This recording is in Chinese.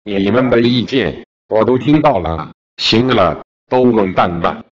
你们的意见我都听到了，行了，都滚蛋吧。